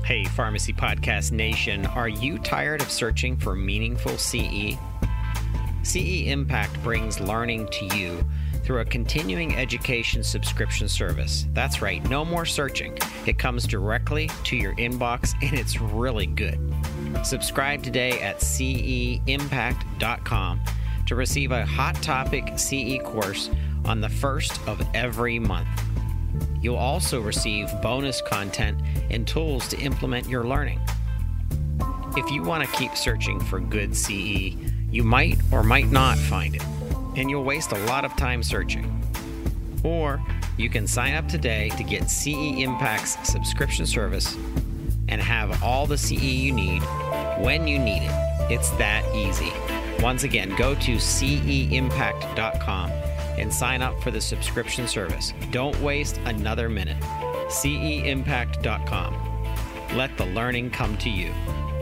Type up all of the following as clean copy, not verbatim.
Hey, Pharmacy Podcast Nation, are you tired of searching for meaningful CE? CE Impact brings learning to you through a continuing education subscription service. That's right, no more searching. It comes directly to your inbox and it's really good. Subscribe today at ceimpact.com to receive a hot topic CE course on the first of every month. You'll also receive bonus content and tools to implement your learning. If you want to keep searching for good CE, you might or might not find it, and you'll waste a lot of time searching. Or you can sign up today to get CE Impact's subscription service and have all the CE you need when you need it. It's that easy. Once again, go to ceimpact.com and sign up for the subscription service. Don't waste another minute. ceimpact.com. Let the learning come to you.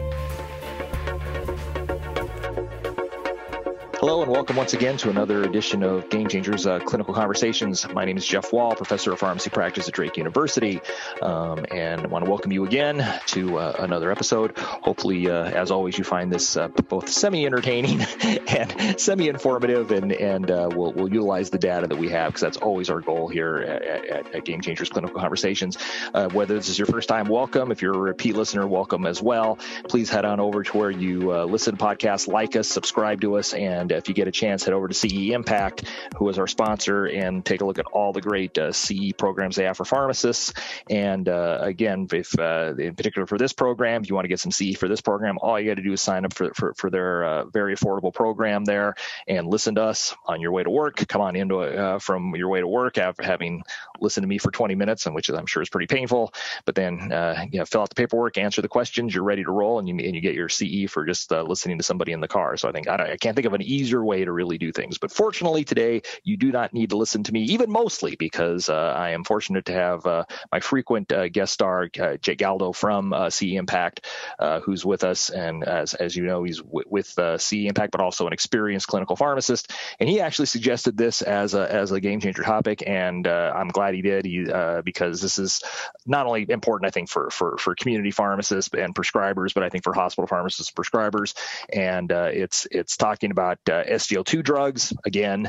Hello and welcome once again to another edition of Game Changers Clinical Conversations. My name is Jeff Wall, Professor of Pharmacy Practice at Drake University, and I want to welcome you again to another episode. Hopefully, as always, you find this both semi-entertaining and semi-informative, and we'll utilize the data that we have, because that's always our goal here at Game Changers Clinical Conversations. Whether this is your first time, welcome. If you're a repeat listener, welcome as well. Please head on over to where you listen to podcasts, like us, subscribe to us, and if you get a chance, head over to CE Impact, who is our sponsor, and take a look at all the great CE programs they have for pharmacists. And again, if in particular for this program, if you want to get some CE for this program, all you got to do is sign up for their very affordable program there and listen to us on your way to work. Come on into from your way to work after having listened to me for 20 minutes, and which I'm sure is pretty painful. But then fill out the paperwork, answer the questions, you're ready to roll, and you get your CE for just listening to somebody in the car. So I can't think of an easier way to really do things. But fortunately today, you do not need to listen to me, even mostly, because I am fortunate to have my frequent guest star, Jake Galdo from CE Impact, who's with us. And as you know, he's with CE Impact, but also an experienced clinical pharmacist. And he actually suggested this as a game changer topic. And I'm glad he did, because this is not only important, I think, for community pharmacists and prescribers, but I think for hospital pharmacists and prescribers. And it's talking about SGLT2 drugs again.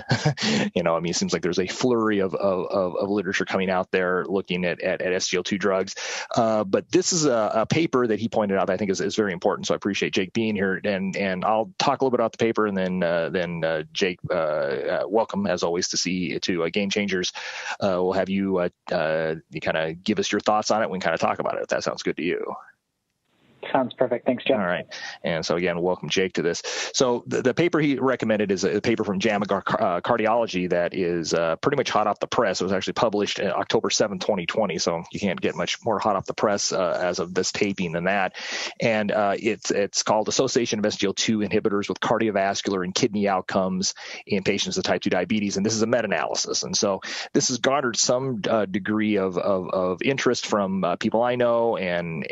It seems like there's a flurry of literature coming out there looking at SGLT2 drugs. But this is a paper that he pointed out that I think is very important. So I appreciate Jake being here, and I'll talk a little bit about the paper, and then Jake, welcome as always to Game Changers. We'll have you kind of give us your thoughts on it. We can kind of talk about it if that sounds good to you. Sounds perfect. Thanks, Jeff. All right. And so again, welcome Jake to this. So the paper he recommended is a paper from JAMA Cardiology that is pretty much hot off the press. It was actually published October 7, 2020. So you can't get much more hot off the press as of this taping than that. And it's called Association of SGLT2 Inhibitors with Cardiovascular and Kidney Outcomes in Patients with Type 2 Diabetes. And this is a meta-analysis. And so this has garnered some degree of interest from people I know and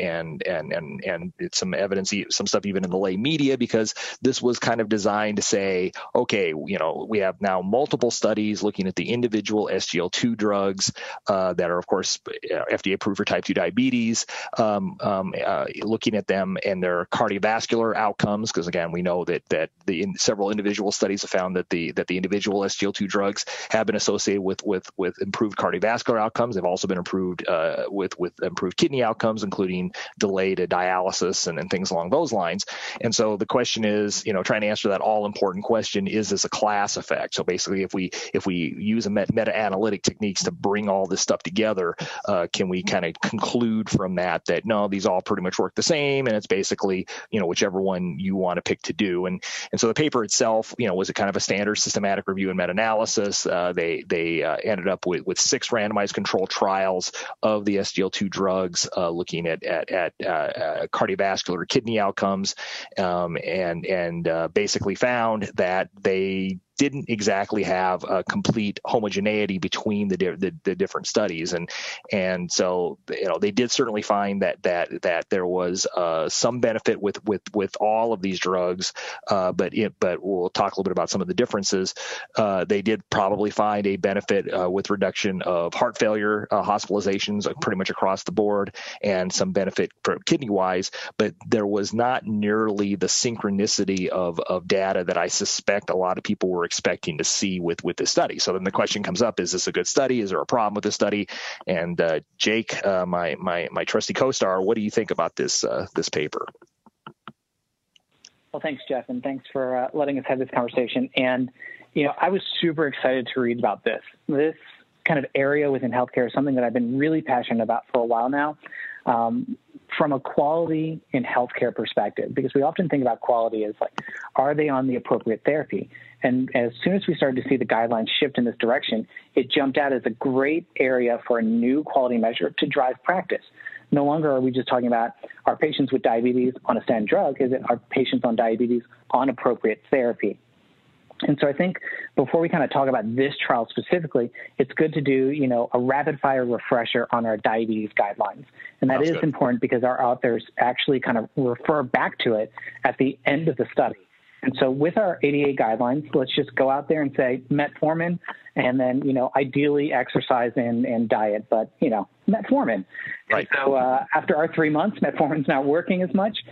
it's some evidence, some stuff even in the lay media, because this was kind of designed to say, okay, we have now multiple studies looking at the individual SGLT2 drugs that are, of course, FDA approved for type 2 diabetes, looking at them and their cardiovascular outcomes, because again, we know that several individual studies have found that the individual SGLT2 drugs have been associated with improved cardiovascular outcomes. They've also been improved with improved kidney outcomes, including delay to dialysis and things along those lines. And so the question is, trying to answer that all important question, is this a class effect? So basically, if we use a meta-analytic techniques to bring all this stuff together, can we kind of conclude from that no, these all pretty much work the same, and it's basically, whichever one you want to pick to do. And so the paper itself, was a kind of a standard systematic review and meta-analysis. They ended up with 6 randomized controlled trials of the SGLT2 drugs, looking at cardiovascular kidney outcomes, and basically found that they didn't exactly have a complete homogeneity between the different studies, and so they did certainly find that there was some benefit with all of these drugs, but we'll talk a little bit about some of the differences. They did probably find a benefit with reduction of heart failure hospitalizations pretty much across the board, and some benefit for kidney wise, but there was not nearly the synchronicity of data that I suspect a lot of people were expecting to see with this study. So then the question comes up: is this a good study? Is there a problem with this study? And Jake, my trusty co-star, what do you think about this paper? Well, thanks, Jeff, and thanks for letting us have this conversation. And I was super excited to read about this. This kind of area within healthcare is something that I've been really passionate about for a while now. From a quality in healthcare perspective, because we often think about quality as like, are they on the appropriate therapy? And as soon as we started to see the guidelines shift in this direction, it jumped out as a great area for a new quality measure to drive practice. No longer are we just talking about our patients with diabetes on a statin drug, is it our patients on diabetes on appropriate therapy? And so I think before we kind of talk about this trial specifically, it's good to do, a rapid fire refresher on our diabetes guidelines. And that is important because our authors actually kind of refer back to it at the end of the study. And so with our ADA guidelines, let's just go out there and say metformin, and then, ideally exercise and diet, but, metformin. Right. And so after our 3 months, metformin's not working as much.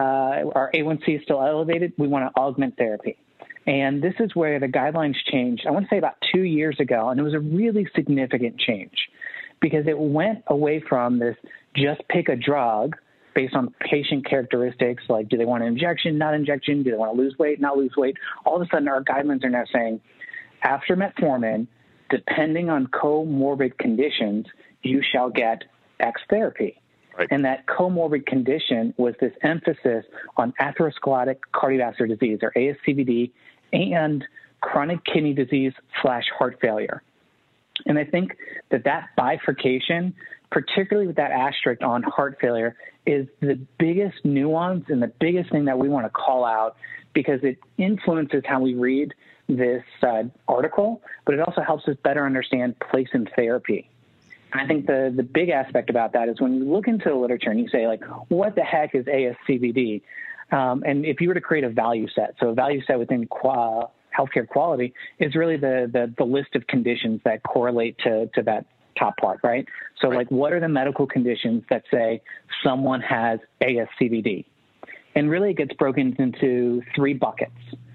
Our A1C is still elevated. We want to augment therapy. And this is where the guidelines changed, I want to say about 2 years ago, and it was a really significant change because it went away from this just pick a drug based on patient characteristics, like do they want an injection, not injection, do they want to lose weight, not lose weight. All of a sudden, our guidelines are now saying after metformin, depending on comorbid conditions, you shall get X therapy. Right. And that comorbid condition was this emphasis on atherosclerotic cardiovascular disease, or ASCVD, and chronic kidney disease / heart failure. And I think that bifurcation, particularly with that asterisk on heart failure, is the biggest nuance and the biggest thing that we want to call out because it influences how we read this article, but it also helps us better understand place in therapy. And I think the big aspect about that is when you look into the literature and you say, like, what the heck is ASCVD? And if you were to create a value set, so a value set within healthcare quality is really the list of conditions that correlate to that top part, right? So, like, what are the medical conditions that say someone has ASCVD? And really it gets broken into 3 buckets: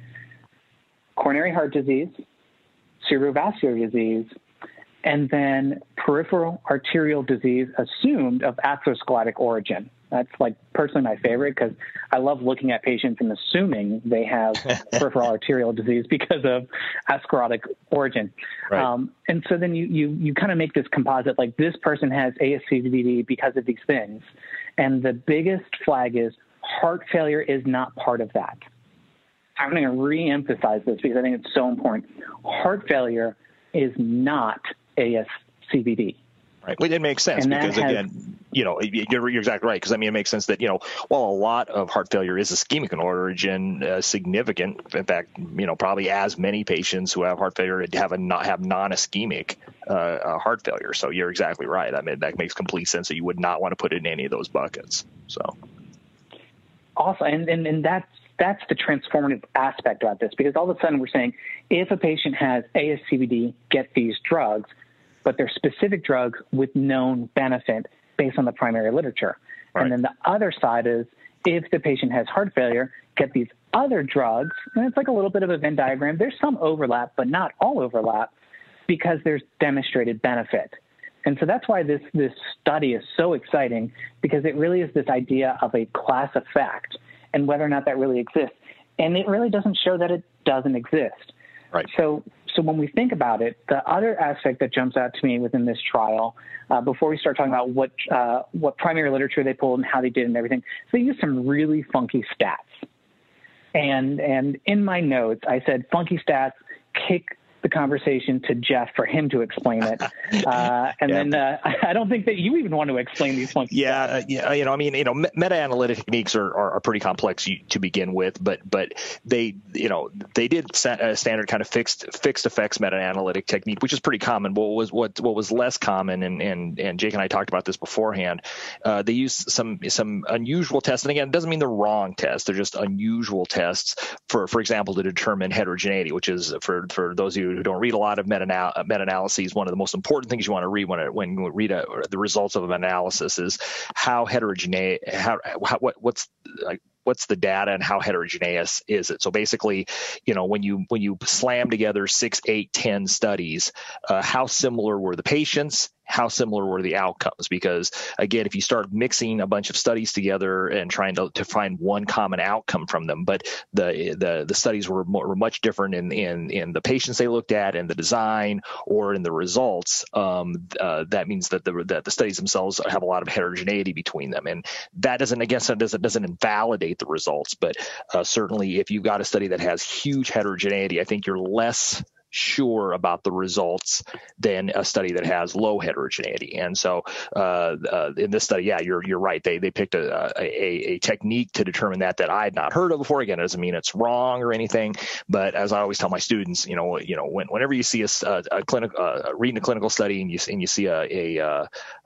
coronary heart disease, cerebrovascular disease, and then peripheral arterial disease assumed of atherosclerotic origin. That's like personally my favorite because I love looking at patients and assuming they have peripheral arterial disease because of atherosclerotic origin. Right. And so then you kind of make this composite, like this person has ASCVD because of these things. And the biggest flag is heart failure is not part of that. I'm going to re-emphasize this because I think it's so important. Heart failure is not ASCVD. Right. Well, it makes sense because, again, you're exactly right. Because, I mean, it makes sense that, while a lot of heart failure is ischemic in origin, significant, in fact, probably as many patients who have heart failure have non-ischemic heart failure. So you're exactly right. I mean, that makes complete sense that you would not want to put it in any of those buckets. So. Awesome. And that's the transformative aspect about this, because all of a sudden we're saying if a patient has ASCVD, get these drugs, but they're specific drugs with known benefit based on the primary literature. Right. And then the other side is if the patient has heart failure, get these other drugs. And it's like a little bit of a Venn diagram. There's some overlap, but not all overlap because there's demonstrated benefit. And so that's why this study is so exciting, because it really is this idea of a class effect and whether or not that really exists. And it really doesn't show that it doesn't exist. Right. So when we think about it, the other aspect that jumps out to me within this trial, before we start talking about what primary literature they pulled and how they did and everything, so they used some really funky stats. And in my notes, I said funky stats kick the conversation to Jeff for him to explain it. Then I don't think that you even want to explain these points. Meta-analytic techniques are pretty complex to begin with, but they did a standard kind of fixed effects meta-analytic technique, which is pretty common. What was less common, and Jake and I talked about this beforehand, they used some unusual tests. And again, it doesn't mean they're wrong tests. They're just unusual tests, for example, to determine heterogeneity, which is, for those of you who don't read a lot of meta-analyses, one of the most important things you want to read when you read the results of an analysis is how heterogeneous, what's the data and how heterogeneous is it? So basically, when you slam together 6, 8, 10 studies, how similar were the patients? How similar were the outcomes? Because again, if you start mixing a bunch of studies together and trying to find one common outcome from them, but the studies were much different in the patients they looked at, and the design, or in the results, that means that the studies themselves have a lot of heterogeneity between them, and that doesn't invalidate the results. But certainly, if you've got a study that has huge heterogeneity, I think you're less sure about the results than a study that has low heterogeneity. And so in this study, you're right. They picked a technique to determine that I had not heard of before. Again, it doesn't mean it's wrong or anything, but as I always tell my students, whenever you see a clinical reading a clinical study and you see a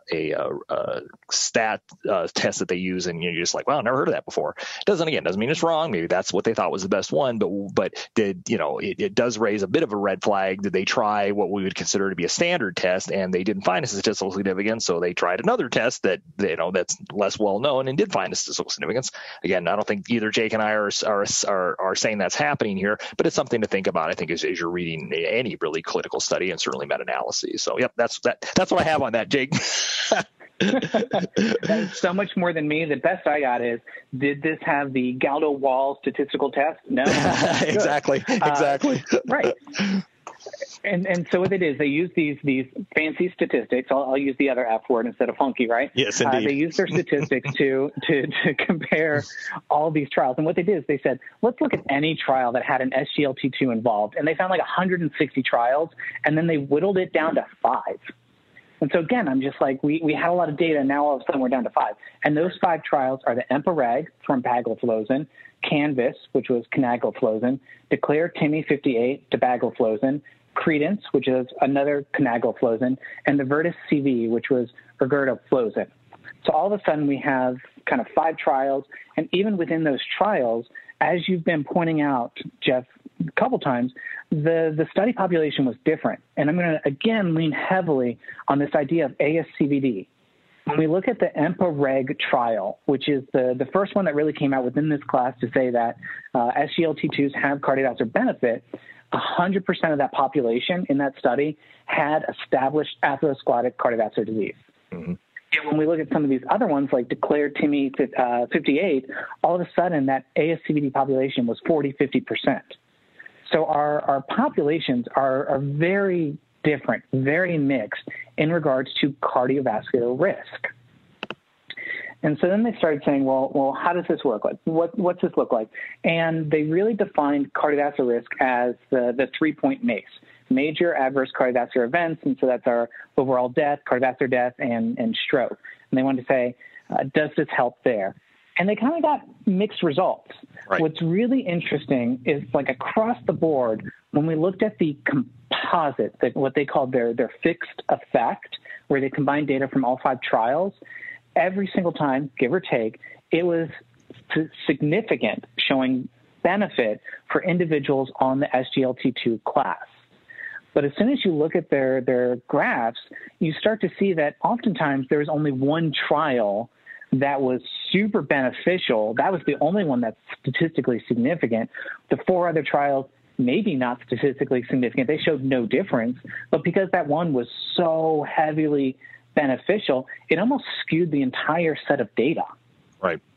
stat test that they use, and you're just like, well, I never heard of that before. Doesn't mean it's wrong. Maybe that's what they thought was the best one, but it does raise a bit of a red flag. Did they try what we would consider to be a standard test, and they didn't find a statistical significance? So they tried another test that that's less well known and did find a statistical significance. Again, I don't think either Jake and I are saying that's happening here, but it's something to think about, I think, as you're reading any really clinical study, and certainly meta-analyses. So that's what I have on that, Jake. That's so much more than me. The best I got is, did this have the Gaudo-Wall statistical test? No. Exactly. Right. And so what they did is they use these fancy statistics. I'll use the other F word instead of funky, right? Yes, indeed. They use their statistics to compare all these trials. And what they did is they said, let's look at any trial that had an SGLT2 involved. And they found like 160 trials, and then they whittled it down to 5. And so again, I'm just like, we had a lot of data, and now all of a sudden we're down to 5. And those 5 trials are the EMPA-REG for empagliflozin, CANVAS, which was canagliflozin, DECLARE-TIMI 58, dapagliflozin, CREDENCE, which is another canagliflozin, and the VERTIS-CV, which was ergotamine. So all of a sudden we have kind of 5 trials, and even within those trials, as you've been pointing out, Jeff, a couple times, the study population was different. And I'm going to, again, lean heavily on this idea of ASCVD. When we look at the EMPA-REG trial, which is the first one that really came out within this class to say that SGLT2s have cardiovascular benefit, 100% of that population in that study had established atherosclerotic cardiovascular disease. Mm-hmm. And when we look at some of these other ones, like DECLARE-TIMI 58, all of a sudden that ASCVD population was 40-50%. So our populations are very different, very mixed in regards to cardiovascular risk. And so then they started saying, well, how does this work? Like, what's this look like? And they really defined cardiovascular risk as the 3-point MACE, major adverse cardiovascular events. And so that's our overall death, cardiovascular death, and stroke. And they wanted to say, does this help there? And they kind of got mixed results. Right. What's really interesting is, like, across the board, when we looked at the composite, what they called their fixed effect, where they combined data from all 5 trials, every single time, give or take, it was significant, showing benefit for individuals on the SGLT2 class. But as soon as you look at their graphs, you start to see that oftentimes there was only one trial that was super beneficial. That was the only one that's statistically significant. The 4 other trials, maybe not statistically significant. They showed no difference. But because that one was so heavily beneficial, it almost skewed the entire set of data. Right.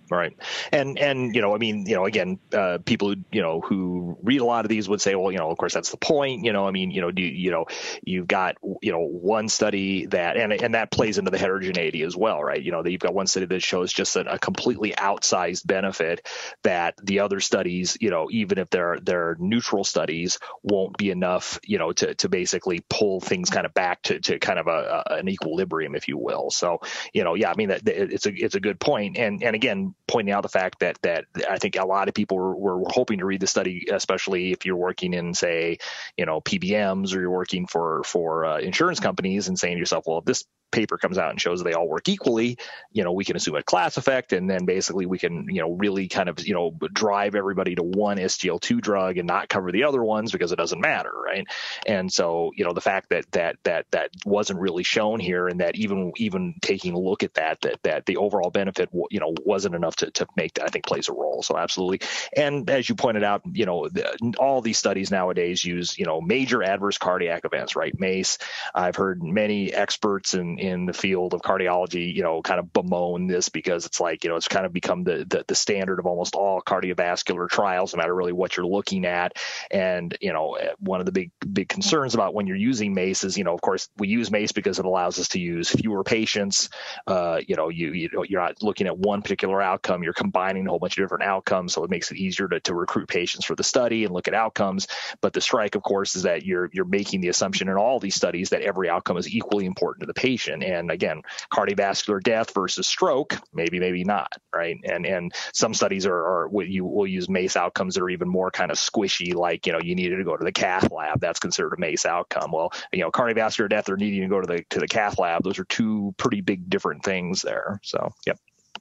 Right. And, I mean, again, people who read a lot of these would say, well, of course, that's the point. I mean, you've got, one study that, and that plays into the heterogeneity as well, right? That you've got one study that shows just a completely outsized benefit that the other studies, even if they're neutral studies, won't be enough, to basically pull things kind of back to kind of an equilibrium, if you will. So, I mean, that it's a good point. And again, pointing out the fact that I think a lot of people were hoping to read the study, especially if you're working in, say, PBMs, or you're working for insurance companies, and saying to yourself, well, if this paper comes out and shows they all work equally, we can assume a class effect, and then basically we can, really kind of, drive everybody to one SGLT2 drug and not cover the other ones because it doesn't matter, right? And so, the fact that wasn't really shown here, and that even taking a look at that the overall benefit, wasn't enough to make that, I think, plays a role. So absolutely. And as you pointed out, all these studies nowadays use, major adverse cardiac events, right? MACE. I've heard many experts in the field of cardiology, kind of bemoan this, because it's like, it's kind of become the standard of almost all cardiovascular trials, no matter really what you're looking at. And, one of the big concerns about when you're using MACE is, of course, we use MACE because it allows us to use fewer patients. You're not looking at one particular outcome, you're combining a whole bunch of different outcomes. So it makes it easier to recruit patients for the study and look at outcomes. But the strike, of course, is that you're making the assumption in all these studies that every outcome is equally important to the patient. And again, cardiovascular death versus stroke, maybe not, right? And some studies will use MACE outcomes that are even more kind of squishy, like, you needed to go to the cath lab. That's considered a MACE outcome. Well, cardiovascular death or needing to go to the cath lab, those are two pretty big different things there. So, yep.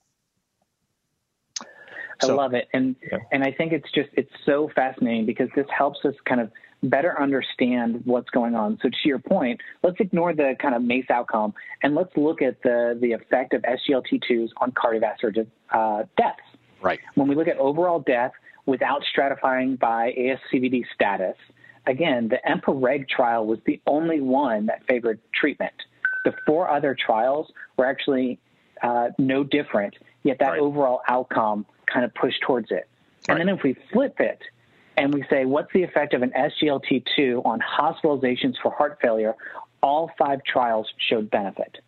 I love it. And I think it's so fascinating, because this helps us kind of better understand what's going on. So to your point, let's ignore the kind of MACE outcome, and let's look at the effect of SGLT2s on cardiovascular deaths. Right. When we look at overall death without stratifying by ASCVD status, again, the EMPA-REG trial was the only one that favored treatment. The 4 other trials were actually no different, yet that overall outcome kind of pushed towards it. And then if we flip it and we say, what's the effect of an SGLT2 on hospitalizations for heart failure, all 5 trials showed benefit.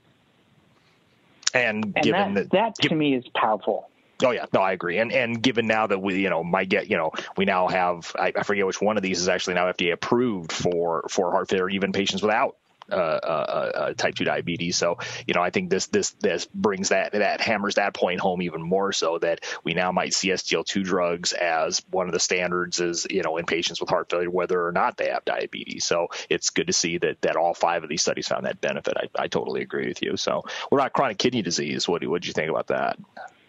And given that to me is powerful. Oh yeah, no, I agree. And given now that we now have, I forget which one of these is actually now FDA approved for heart failure, even patients without type 2 diabetes. So, I think this brings that hammers that point home even more, so that we now might see SGLT2 drugs as one of the standards is, in patients with heart failure, whether or not they have diabetes. So it's good to see that all 5 of these studies found that benefit. I totally agree with you. So what about chronic kidney disease? What did you think about that?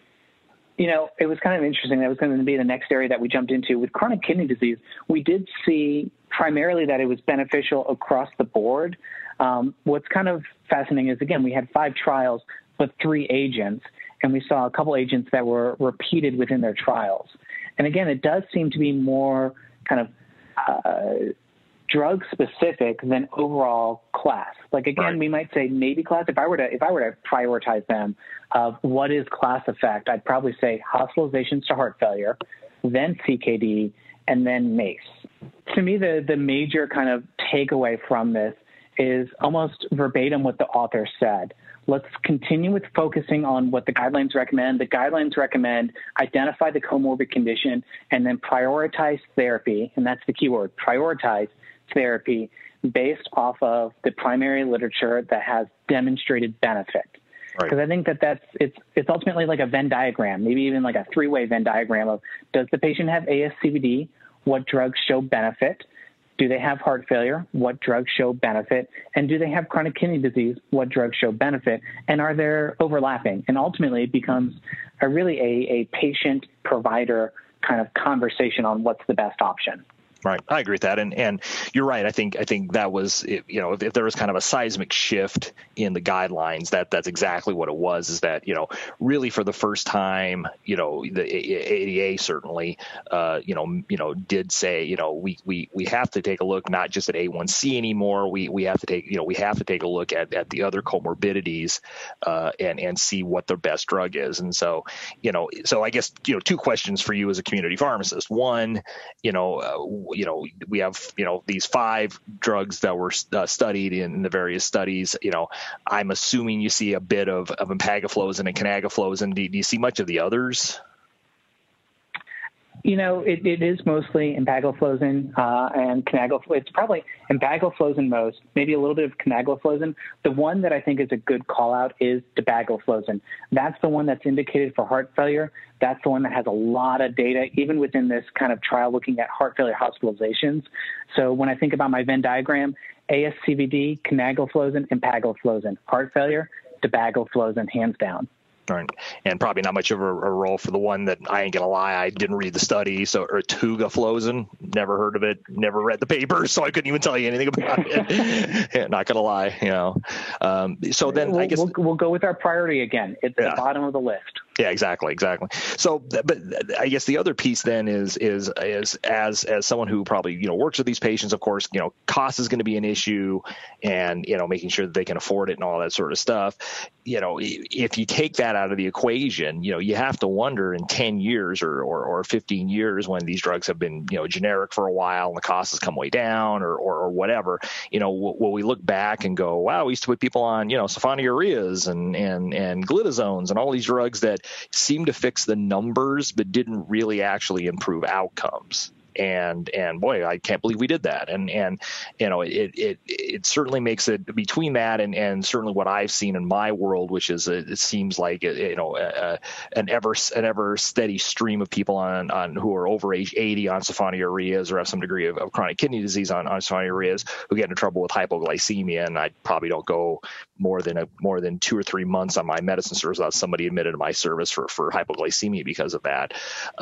It was kind of interesting. That was going to be the next area that we jumped into. With chronic kidney disease, we did see primarily that it was beneficial across the board. What's kind of fascinating is, again, we had 5 trials, but 3 agents, and we saw a couple agents that were repeated within their trials. And again, it does seem to be more kind of drug specific than overall class. Like, again, we might say maybe class. If I were to prioritize them of what is class effect, I'd probably say hospitalizations to heart failure, then CKD, and then MACE. To me, the major kind of takeaway from this is almost verbatim what the author said. Let's continue with focusing on what the guidelines recommend. The guidelines recommend identify the comorbid condition and then prioritize therapy, and that's the key word, prioritize therapy based off of the primary literature that has demonstrated benefit. Because I think it's ultimately like a Venn diagram, maybe even like a 3-way Venn diagram of, does the patient have ASCVD? What drugs show benefit? Do they have heart failure? What drugs show benefit? And do they have chronic kidney disease? What drugs show benefit? And are there overlapping? And ultimately it becomes a patient-provider kind of conversation on what's the best option. Right. I agree with that. And you're right. I think that was, if there was kind of a seismic shift in the guidelines, that's exactly what it was, is that, really for the first time, the ADA certainly, did say, we have to take a look, not just at A1C anymore. We have to take a look at the other comorbidities, and see what the best drug is. And so, so I guess, two questions for you as a community pharmacist. One, we have, these 5 drugs that were studied in the various studies. I'm assuming you see a bit of empagliflozin and canagliflozin. Do you see much of the others? It is mostly empagliflozin and canagliflozin. It's probably empagliflozin most, maybe a little bit of canagliflozin. The one that I think is a good call out is dapagliflozin. That's the one that's indicated for heart failure. That's the one that has a lot of data, even within this kind of trial looking at heart failure hospitalizations. So when I think about my Venn diagram, ASCVD, canagliflozin, empagliflozin. Heart failure, dapagliflozin, hands down. Right. And probably not much of a role for the one that, I ain't gonna lie, I didn't read the study. So ertugriflozin, never heard of it, never read the papers, so I couldn't even tell you anything about it. Yeah, not gonna lie, So then I guess we'll go with our priority again. It's the bottom of the list. Yeah, exactly. So, but I guess the other piece then is as someone who probably works with these patients, of course, cost is going to be an issue, and making sure that they can afford it and all that sort of stuff. If you take that out of the equation, you have to wonder in 10 years or 15 years, when these drugs have been generic for a while and the cost has come way down or whatever, will we look back and go, wow, we used to put people on sulfonylureas and glitazones and all these drugs that seemed to fix the numbers but didn't really actually improve outcomes. And boy, I can't believe we did that. And it certainly makes it, between that and certainly what I've seen in my world, which is it seems like an ever steady stream of people on who are over age 80 on sulfonylureas or have some degree of chronic kidney disease on sulfonylureas, who get into trouble with hypoglycemia. And I probably don't go more than 2 or 3 months on my medicine service without somebody admitted to my service for hypoglycemia because of that.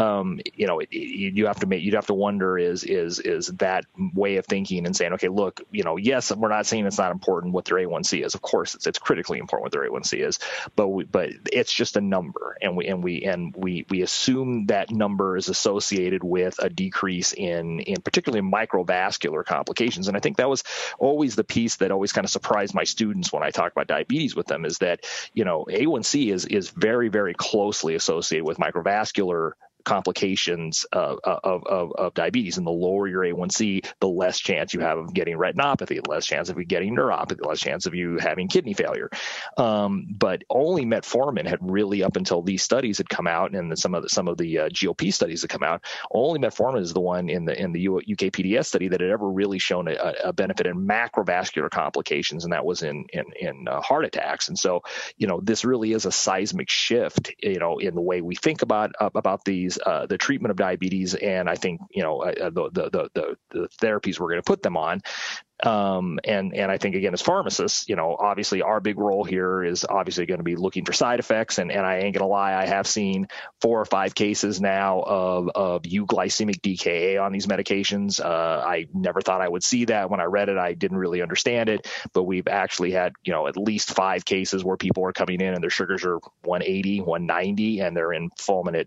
You'd have to wonder is that way of thinking and saying, okay, look, yes, we're not saying it's not important what their A1C is. Of course, it's critically important what their A1C is, but it's just a number, and we assume that number is associated with a decrease in particularly microvascular complications. And I think that was always the piece that always kind of surprised my students when I talk about diabetes with them, is that A1C is very, very closely associated with microvascular complications of diabetes. And the lower your A1C, the less chance you have of getting retinopathy, the less chance of you getting neuropathy, the less chance of you having kidney failure. But only metformin had really, up until these studies had come out, and some of the GLP studies had come out, only metformin is the one in the UKPDS study that had ever really shown a benefit in macrovascular complications, and that was in heart attacks. And so, this really is a seismic shift, in the way we think about these the treatment of diabetes, and I think the therapies we're going to put them on. And I think, again, as pharmacists, obviously our big role here is obviously going to be looking for side effects. And I ain't gonna lie, I have seen 4 or 5 cases now of euglycemic DKA on these medications. I never thought I would see that. When I read it, I didn't really understand it, but we've actually had, at least 5 cases where people are coming in and their sugars are 180, 190, and they're in fulminant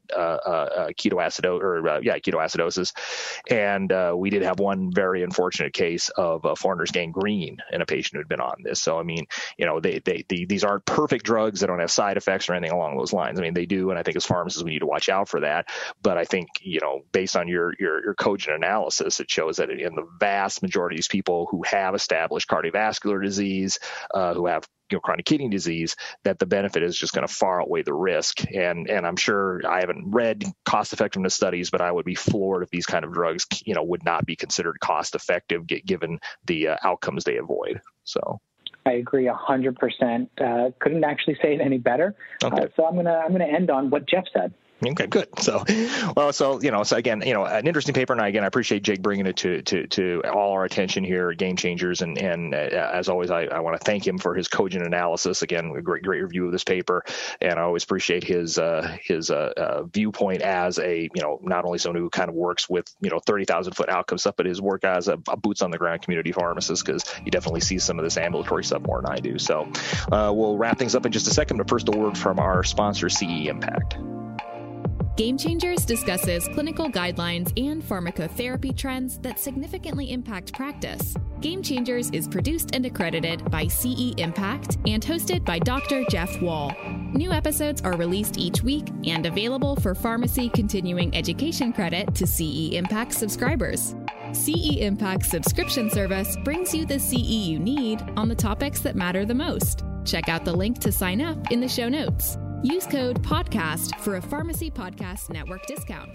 ketoacidosis. And we did have one very unfortunate case of Foreigner's gangrene in a patient who had been on this. So, I mean, these aren't perfect drugs. They don't have side effects or anything along those lines. I mean, they do. And I think as pharmacists, we need to watch out for that. But I think, based on your cogent analysis, it shows that in the vast majority of these people who have established cardiovascular disease, who have chronic kidney disease, that the benefit is just going to far outweigh the risk. And I'm sure, I haven't read cost effectiveness studies, but I would be floored if these kind of drugs, would not be considered cost effective given the outcomes they avoid. So I agree 100%. Couldn't actually say it any better. Okay. So I'm gonna end on what Jeff said. Okay, good. So again, an interesting paper. And again, I appreciate Jake bringing it to all our attention here at Game Changers. And as always, I want to thank him for his cogent analysis. Again, a great review of this paper. And I always appreciate his viewpoint as not only someone who kind of works with, 30,000 foot outcome stuff, but his work as a boots on the ground community pharmacist, because he definitely sees some of this ambulatory stuff more than I do. So we'll wrap things up in just a second. But first, a word from our sponsor, CE Impact. Game Changers discusses clinical guidelines and pharmacotherapy trends that significantly impact practice. Game Changers is produced and accredited by CE Impact and hosted by Dr. Jeff Wall. New episodes are released each week and available for pharmacy continuing education credit to CE Impact subscribers. CE Impact's subscription service brings you the CE you need on the topics that matter the most. Check out the link to sign up in the show notes. Use code PODCAST for a Pharmacy Podcast Network discount.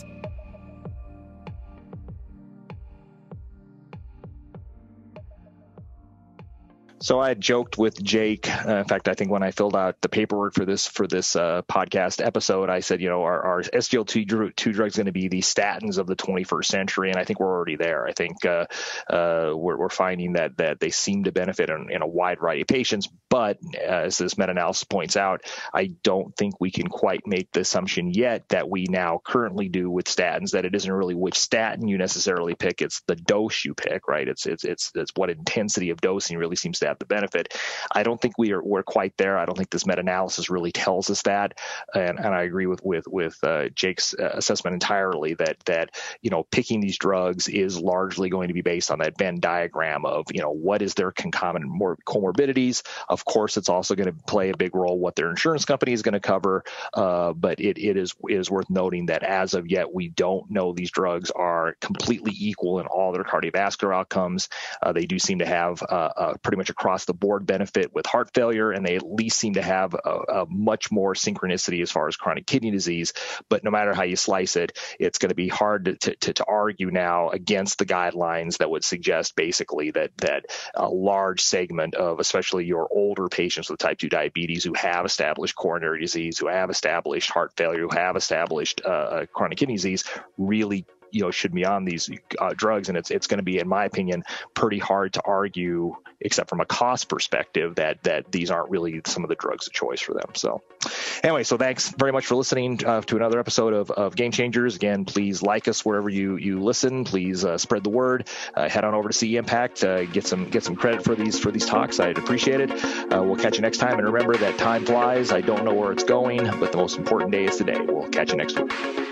So I had joked with Jake. In fact, I think when I filled out the paperwork for this podcast episode, I said, our SGLT2 drug is going to be the statins of the 21st century, and I think we're already there. I think we're finding that they seem to benefit in a wide variety of patients. But as this meta-analysis points out, I don't think we can quite make the assumption yet that we now currently do with statins, that it isn't really which statin you necessarily pick; it's the dose you pick, right? It's what intensity of dosing really seems to have the benefit. I don't think we're quite there. I don't think this meta-analysis really tells us that, and I agree with Jake's assessment entirely that picking these drugs is largely going to be based on that Venn diagram of what is their concomitant comorbidities. Of course, it's also going to play a big role what their insurance company is going to cover, but it is worth noting that as of yet we don't know these drugs are completely equal in all their cardiovascular outcomes. They do seem to have pretty much across the board benefit with heart failure, and they at least seem to have a much more synchronicity as far as chronic kidney disease. But no matter how you slice it, it's going to be hard to argue now against the guidelines that would suggest basically that a large segment of especially your older patients with type 2 diabetes who have established coronary disease, who have established heart failure, who have established chronic kidney disease really should be on these drugs. And it's going to be, in my opinion, pretty hard to argue, except from a cost perspective, that these aren't really some of the drugs of choice for them. So anyway, so thanks very much for listening to another episode of Game Changers. Again, please like us wherever you listen. Please spread the word. Head on over to CE Impact. Get some credit for these talks. I'd appreciate it. We'll catch you next time. And remember that time flies. I don't know where it's going, but the most important day is today. We'll catch you next week.